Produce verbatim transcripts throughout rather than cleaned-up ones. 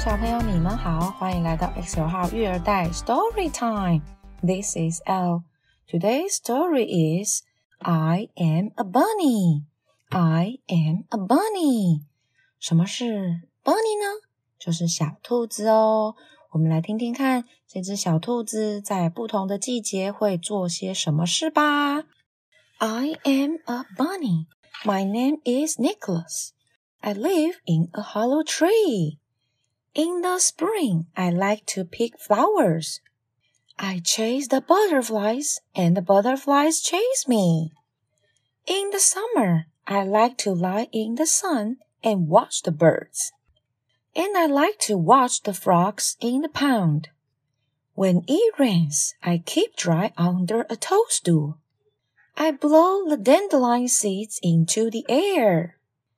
小朋友，你們好，歡迎來到 X 九號育兒袋 Story Time. This is Elle. Today's story is I am a bunny. I am a bunny. 什麼是 bunny 呢？就是小兔子哦。我們來聽聽看，這隻小兔子在不同的季節會做些什麼事吧。I am a bunny. My name is Nicholas. I live in a hollow tree.In the spring, I like to pick flowers. I chase the butterflies, and the butterflies chase me. In the summer, I like to lie in the sun and watch the birds. And I like to watch the frogs in the pond. When it rains, I keep dry under a toadstool. I blow the dandelion seeds into the air.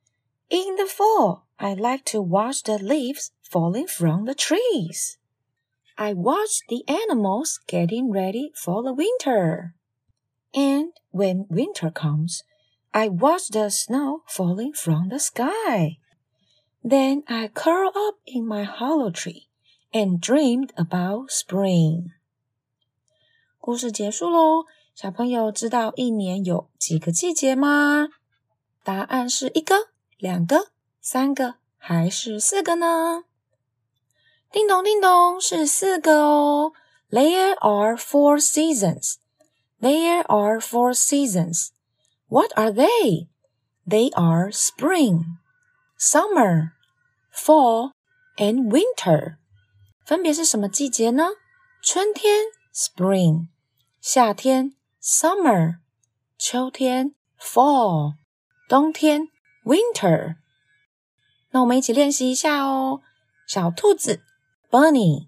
In the fall, I like to watch the leaves falling from the trees. I watch the animals getting ready for the winter. And when winter comes, I watch the snow falling from the sky. Then I curl up in my hollow tree and dreamed about spring. 故事結束嘍，小朋友知道一年有幾個季節嗎？答案是一個、兩個、三個還是四個呢？叮咚叮咚，是四個哦。There are four seasons. There are four seasons. What are they? They are spring, summer, fall, and winter. 分別是什麼季節呢？春天 spring, 夏天 summer, 秋天 fall, 冬天 winter。那我們一起練習一下哦。小兔子 Bunny,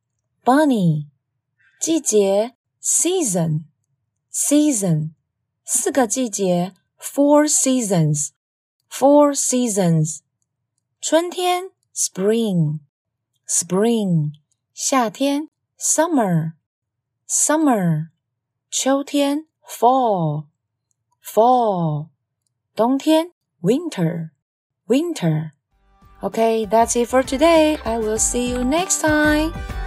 bunny. 季節 Season, season. 四個季節 Four seasons, four seasons. 春天 Spring, spring. 夏天 Summer, summer. 秋天 Fall, fall. 冬天 Winter, winter.Okay, that's it for today. I will see you next time.